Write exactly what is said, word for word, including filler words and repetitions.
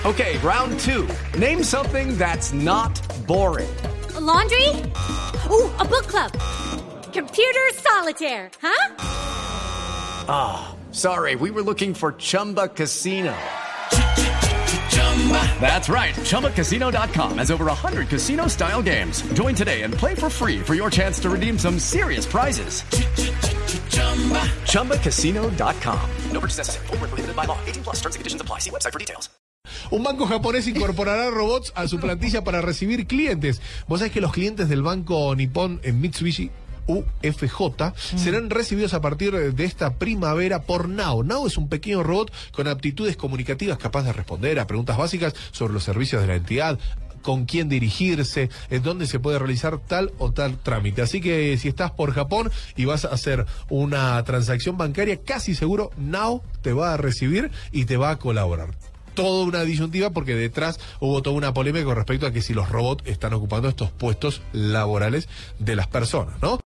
Okay, round two. Name something that's not boring. A laundry? Ooh, a book club. Computer solitaire, huh? Ah, oh, sorry, we were looking for Chumba Casino. That's right, Chumba Casino dot com has over one hundred casino-style games. Join today and play for free for your chance to redeem some serious prizes. Chumba Casino dot com. No purchase necessary. Void where prohibited by law. eighteen plus terms and conditions apply. See website for details. Un banco japonés incorporará robots a su plantilla para recibir clientes. Vos sabés que los clientes del banco Nippon en Mitsubishi U F J mm. serán recibidos a partir de esta primavera por Nao. Nao es un pequeño robot con aptitudes comunicativas capaz de responder a preguntas básicas sobre los servicios de la entidad, con quién dirigirse, en dónde se puede realizar tal o tal trámite. Así que si estás por Japón y vas a hacer una transacción bancaria, casi seguro Nao te va a recibir y te va a colaborar. Toda una disyuntiva porque detrás hubo toda una polémica con respecto a que si los robots están ocupando estos puestos laborales de las personas, ¿no?